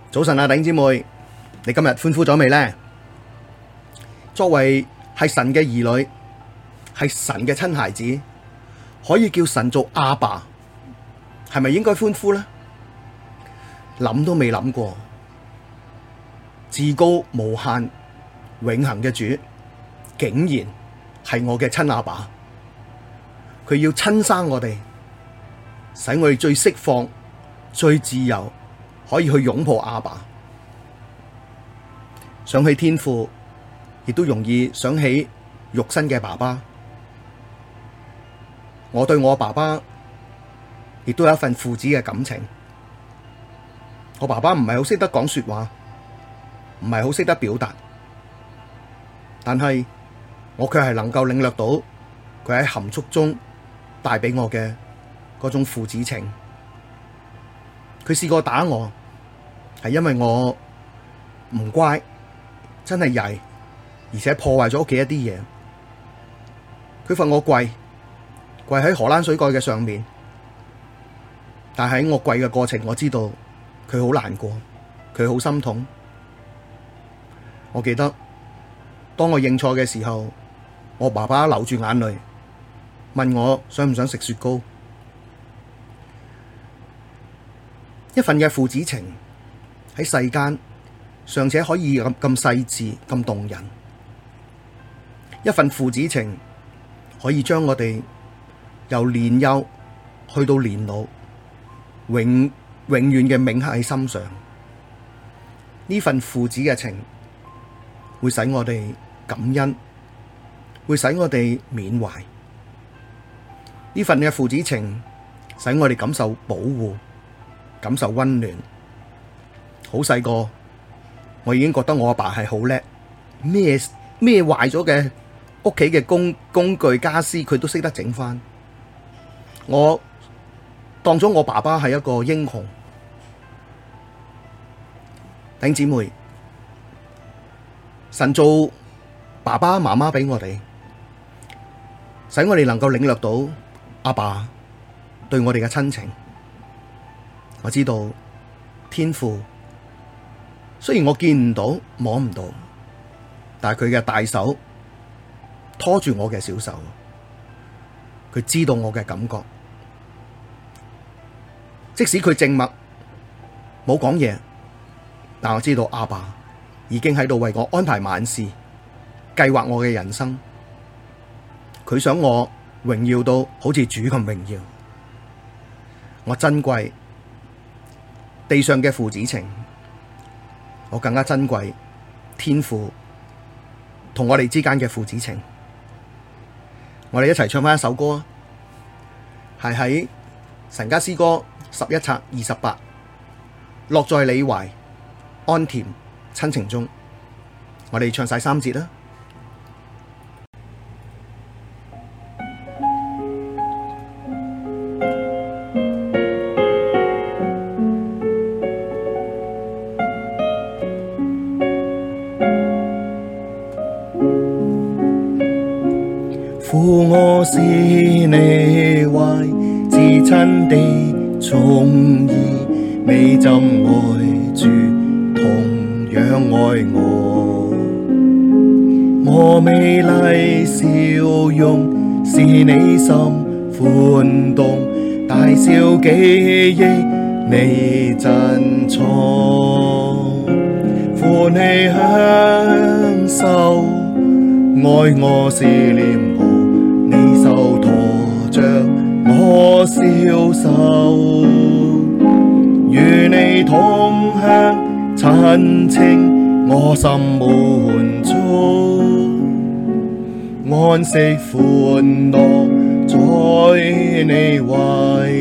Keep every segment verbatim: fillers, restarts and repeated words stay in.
早晨啊，弟兄姊妹，你今日歡呼咗未呢？作為係神嘅兒女，係神嘅親孩子，可以叫神做阿爸，係咪應該歡呼呢？諗都未諗過，至高無限、永恆嘅主，竟然係我嘅親阿爸，佢要親生我哋，使我哋最釋放、最自由。可以去擁抱阿爸，想起天父，亦都容易想起肉身嘅爸爸。我對我爸爸亦都有一份父子嘅感情。我爸爸唔係好識得講說話，唔係好識得表達，但係我卻係能夠領略到佢喺含蓄中帶俾我嘅嗰種父子情。佢試過打我，係因為我唔乖，真係曳，而且破壞咗屋企一啲嘢。佢罰我跪，跪喺荷蘭水蓋嘅上面。但喺我跪嘅過程，我知道佢好難過，佢好心痛。我記得當我認錯嘅時候，我爸爸流住眼淚，問我想唔想食雪糕。一份嘅父子情喺世間尚且可以咁咁細緻、咁動人。一份父子情可以將我哋由年幼去到年老，永永遠嘅銘刻喺心上。呢份父子嘅情會使我哋感恩，會使我哋緬懷。呢份嘅父子情使我哋感受保護，感受溫暖。好細個，我已經覺得我阿爸係好叻，咩咩壞咗嘅屋企嘅工工具家私，佢都識得整返。我當咗我爸爸係一個英雄。弟兄姊妹，神做爸爸媽媽俾我哋，使我哋能夠領略到阿爸對我哋嘅親情。我知道天父雖然我見唔到摸唔到，但係佢嘅大手拖住我嘅小手，佢知道我嘅感覺。即使佢靜默冇講嘢，但我知道阿爸已經喺度為我安排萬事，計劃我嘅人生。佢想我榮耀到好似主咁榮耀。我珍貴地上嘅父子情，我更加珍貴天父同我哋之間嘅父子情。我哋一齊唱返一首歌啊，係喺神家詩歌十一冊二十八，樂在你懷，安甜親情中。我哋唱晒三節啦。 父，我是你懷至親的寵兒，你怎愛主同樣愛我。我美麗笑容使你心歡動，大小記憶你珍藏，歡喜享受，愛我是臉譜，你手拖着我消瘦，與你同享親情，我心滿足，安息歡樂在你懷，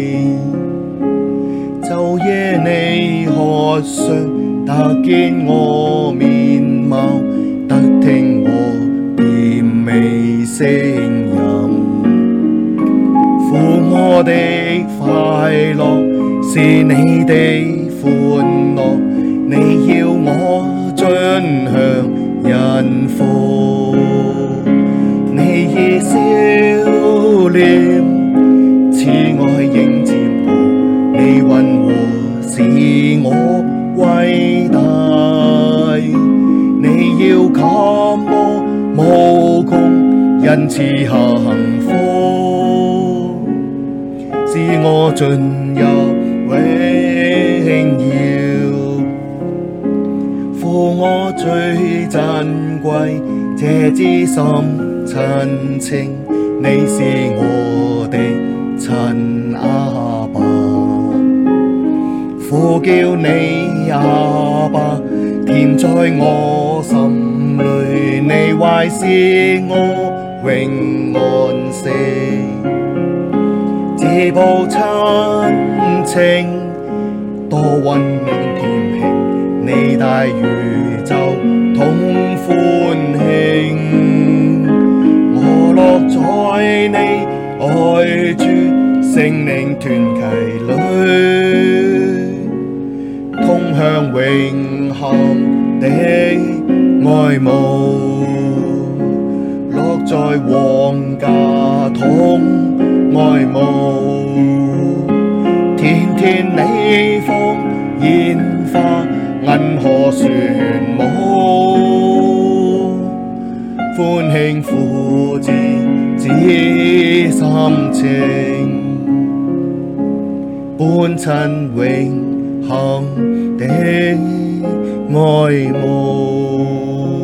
晝夜你渴想，得見我面貌，得聽我甜美聲音。父，我的快樂是你的歡樂，你要我盡享恩福，你以笑臉慈愛迎接我，你溫和使我為因賜下幸福，使我進入榮耀。父，我最珍貴這至深親情，你是我的親阿爸。呼叫你阿爸，甜在我心裡，你懷是我永安息。這報親情多溫暖甜馨，你帶宇宙同歡慶。我樂在你愛主聖靈團契裡，同享永恆的愛慕。樂在皇家同愛慕，天天你放煙花，銀河旋舞，歡慶父子至深情，伴親永恆的愛慕。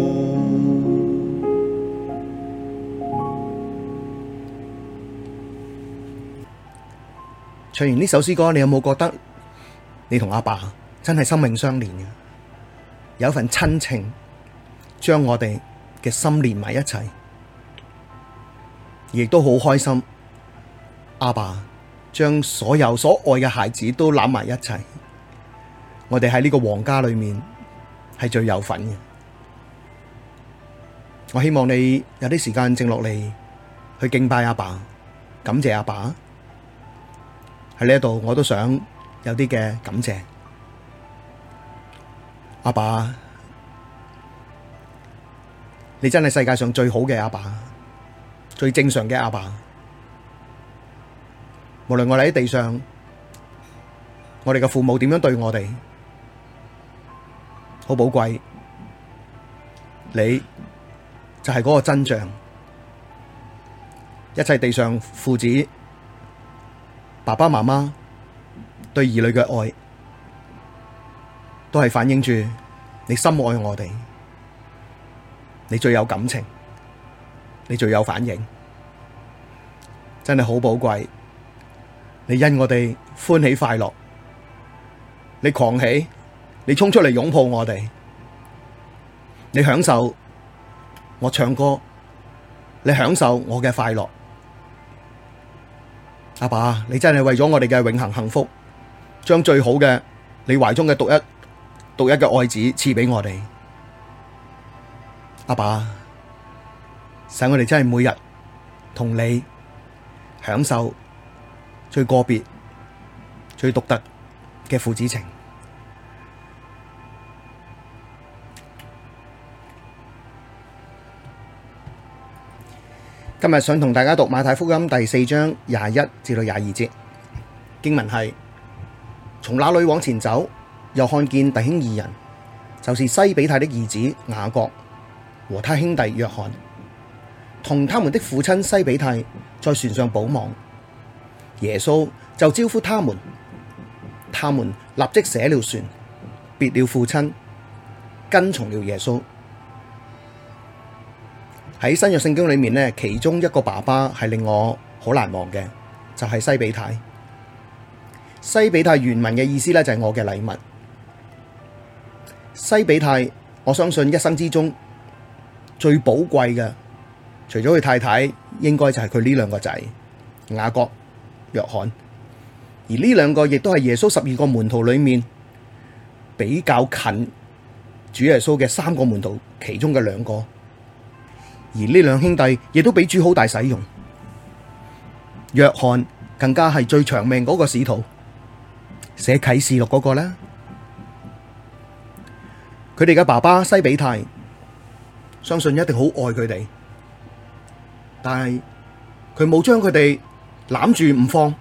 唱完呢首詩歌，你有冇覺得你同阿爸真係生命相連嘅？有一份親情將我哋嘅心連埋一齊，亦都好開心。阿爸將所有所愛嘅孩子都攬埋一齊，我哋喺呢個皇家裏面係最有份嘅。我希望你有啲時間靜落嚟去敬拜阿爸，感謝阿爸。喺呢一度，我都想有啲嘅感謝阿爸，你真係世界上最好嘅阿爸，最正常嘅阿爸。無論我哋喺地上，我哋嘅父母點樣對我哋，好寶貴。你就係嗰個真相，一切地上父子、爸爸媽媽對兒女嘅愛，都係反映住你深愛我哋，你最有感情，你最有反應，真係好寶貴。你因我哋歡喜快樂，你狂喜，你衝出嚟擁抱我哋，你享受我唱歌，你享受我嘅快樂。阿爸，你真係為咗我哋嘅永恆幸福，將最好嘅你懷中嘅獨一獨一嘅愛子賜俾我哋。阿爸，使我哋真係每日同你享受最個別、最獨特嘅父子情。今日想同大家讀馬太福音第四章廿一至到廿二節經文係：從那裡往前走，又看見弟兄二人，就是西比泰的兒子雅各和他兄弟約翰，同他們的父親西比泰在船上補網。耶穌就招呼他們，他們立即捨了船，別了父親，跟從了耶穌。喺新約聖經裏面呢，其中一個爸爸係令我好難忘嘅，就係西比泰。西比泰原文嘅意思呢，就係我嘅禮物。西比泰，我相信一生之中最寶貴嘅，除咗佢太太，應該就係佢呢兩個仔雅各、約翰。而呢兩個亦都係耶穌十二個門徒裏面比較近主耶穌嘅三個門徒其中嘅兩個。而呢兩兄弟亦都俾主好大使用，約翰更加係最長命嗰個使徒，寫啟示錄嗰個啦。佢哋嘅爸爸西比泰，相信一定好愛佢哋，但係佢冇將佢哋攬住唔放。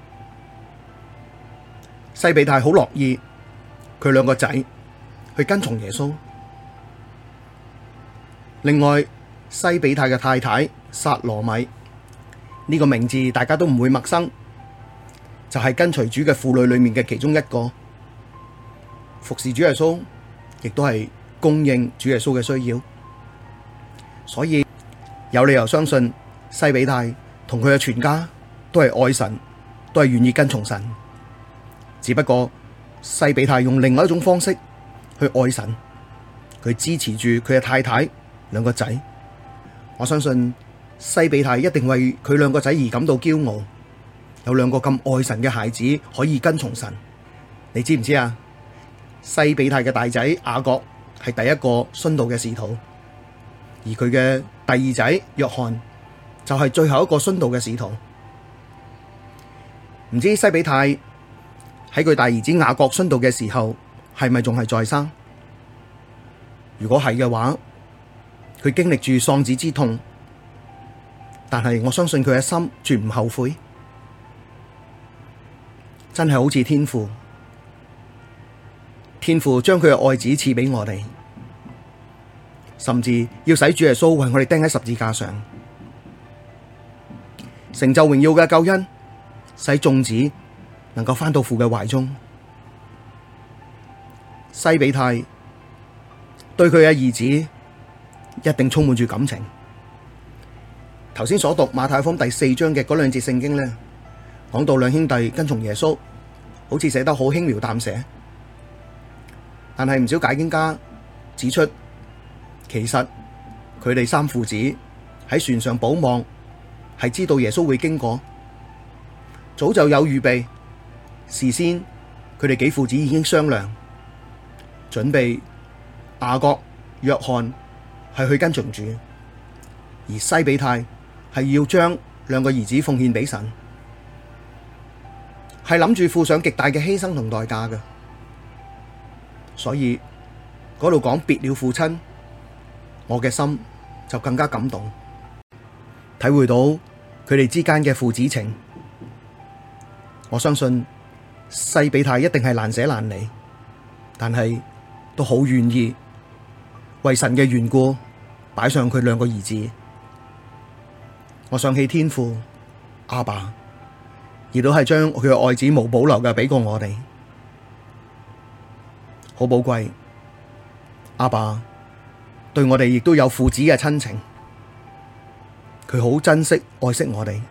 西比泰好樂意佢兩個仔去跟從耶穌。另外， 西比泰嘅太太撒羅米，呢個名字大家都唔會陌生，就係跟隨主嘅婦女裏面嘅其中一個，服侍主耶穌，亦都係供應主耶穌嘅需要，所以有理由相信西比泰同佢嘅全家都係愛神，都係願意跟從神，只不過西比泰用另外一種方式去愛神，佢支持住佢嘅太太兩個仔。我相信西比泰一定為佢兩個仔而感到驕傲，有兩個咁愛神嘅孩子可以跟從神。你知唔知啊？西比泰嘅大仔雅各係第一個殉道嘅使徒，而佢嘅第二仔約翰就係最後一個殉道嘅使徒。唔知西比泰喺佢大兒子雅各殉道嘅時候係咪仲係在生？如果係嘅話，佢經歷住喪子之痛，但係我相信佢嘅心絕唔後悔，真係好似天父，天父將佢嘅愛子賜俾我哋，甚至要使主耶穌為我哋釘喺十字架上，成就榮耀嘅救恩，使眾子能夠返到父嘅懷中。西比泰對佢嘅兒子一定充滿住感情。頭先所讀馬太福音第四章嘅嗰兩節聖經呢，講到兩兄弟跟從耶穌，好似寫得好輕描淡寫，但係唔少解經家指出，其實佢哋三父子喺船上保望，係知道耶穌會經過，早就有預備，事先佢哋幾父子已經商量，準備雅各、約翰係去跟從主，而西比泰係要將兩個兒子奉獻俾神，係諗住付上極大嘅犧牲同代價嘅。所以嗰度講別了父親，我嘅心就更加感動，體會到佢哋之間嘅父子情。我相信西比泰一定係難捨難離，但係都好願意為神嘅緣故擺上佢兩個兒子。我想起天父阿爸，亦都係將佢嘅愛子無保留嘅俾過我哋，好寶貴。阿爸對我哋亦都有父子嘅親情，佢好珍惜愛惜我哋，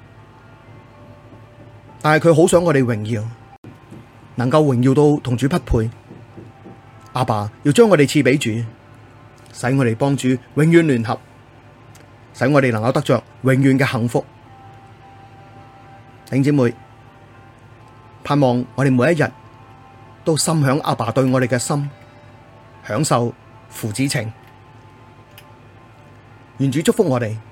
但係佢好想我哋榮耀，能夠榮耀到同主匹配。阿爸要將我哋賜俾主，使我哋幫主永遠聯合，使我哋能夠得着永遠嘅幸福。弟兄姊妹，盼望我哋每一日都心享阿爸對我哋嘅心，享受父子情。願主祝福我哋。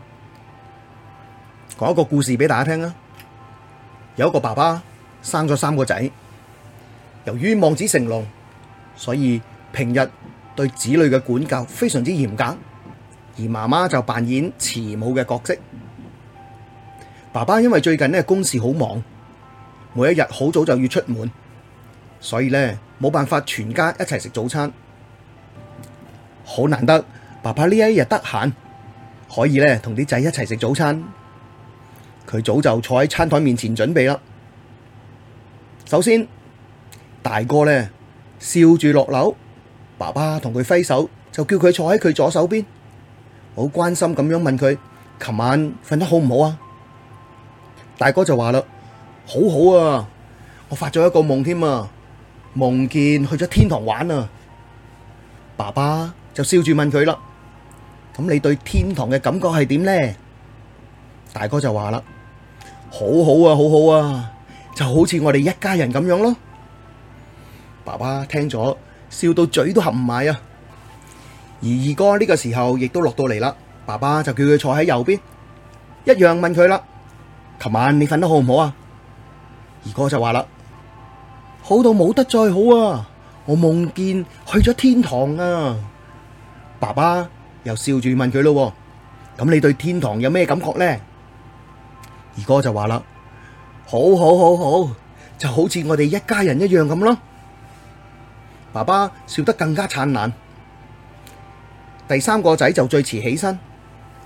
講一個故事俾大家聽啊！有一個爸爸生咗三個仔，由於望子成龍，所以平日對子女嘅管教非常之嚴格，而媽媽就扮演慈母嘅角色。爸爸因為最近呢公事好忙，每一日好早就要出門，所以呢冇辦法全家一齊食早餐。好難得爸爸呢一日得閒，可以呢同啲仔一齊食早餐。佢早就坐喺餐台面前準備啦。首先，大哥呢笑住落樓，爸爸同佢揮手，就叫佢坐喺佢左手邊，好關心咁樣問佢：琴晚瞓得好唔好啊？大哥就話啦：好好啊，我發咗一個夢添啊，夢見去咗天堂玩啊。爸爸就笑住問佢啦：咁你對天堂嘅感覺係點呢？大哥就話啦：好好啊，好好啊，就好似我哋一家人咁樣咯。爸爸聽咗笑到嘴都合唔埋啊。而二哥呢個時候亦都落到嚟啦，爸爸就叫佢坐喺右邊，一樣問佢啦：琴晚你瞓得好唔好啊？二哥就話啦：好到冇得再好啊，我夢見去咗天堂啊。爸爸又笑住問佢咯：咁你對天堂有咩感覺呢？二哥就話啦：好好好好，就好似我哋一家人一樣咁咯。爸爸笑得更加燦爛。第三個仔就最遲起身，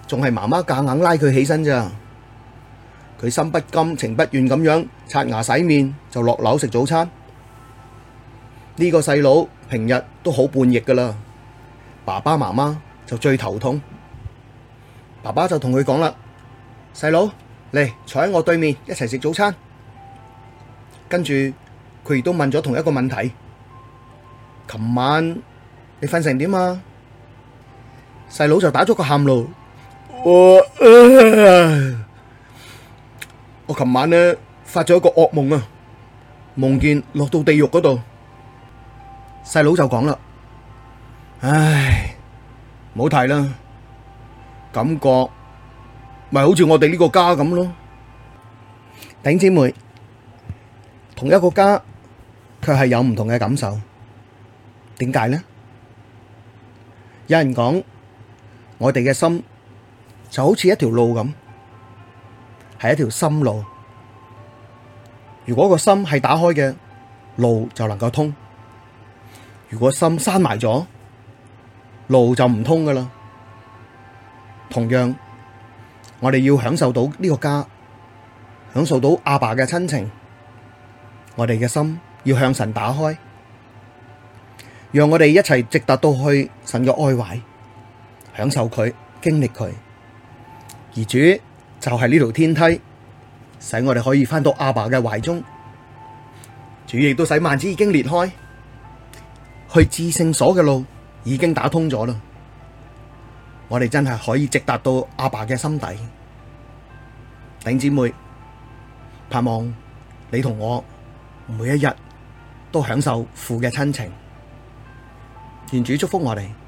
仲係媽媽夾硬拉佢起身咋。佢心不甘情不願咁樣刷牙洗面就落樓食早餐。呢個細佬平日都好叛逆噶啦，爸爸媽媽就最頭痛。爸爸就同佢講啦：細佬，嚟坐喺我對面一齊食早餐。跟住佢亦都問咗同一個問題：琴晚你瞓成點啊？細佬就打咗個喊路：我呃我琴晚呢發咗一個噩夢啊，夢見落到地獄嗰度。細佬就講啦：唉，唔好提啦，感覺咪好似我哋呢個家咁咯。弟兄姊妹，同一個家，卻係有唔同嘅感受。點解呢？有人講，我哋嘅心就好似一條路咁，係一條心路。如果個心係打開嘅，路就能夠通；如果心閂埋咗，路就唔通噶啦。同樣，我哋要享受到呢個家，享受到阿爸嘅親情，我哋嘅心要向神打開，讓我哋一齊直達到去神嘅愛懷，享受佢，經歷佢。而主就係呢條天梯，使我哋可以返到阿爸嘅懷中。主亦都使幔子已經裂開，去至聖所嘅路已經打通咗啦。我哋真係可以直達到阿爸嘅心底。弟兄姊妹，盼望你同我每一日都享受父嘅親情。願主祝福我哋。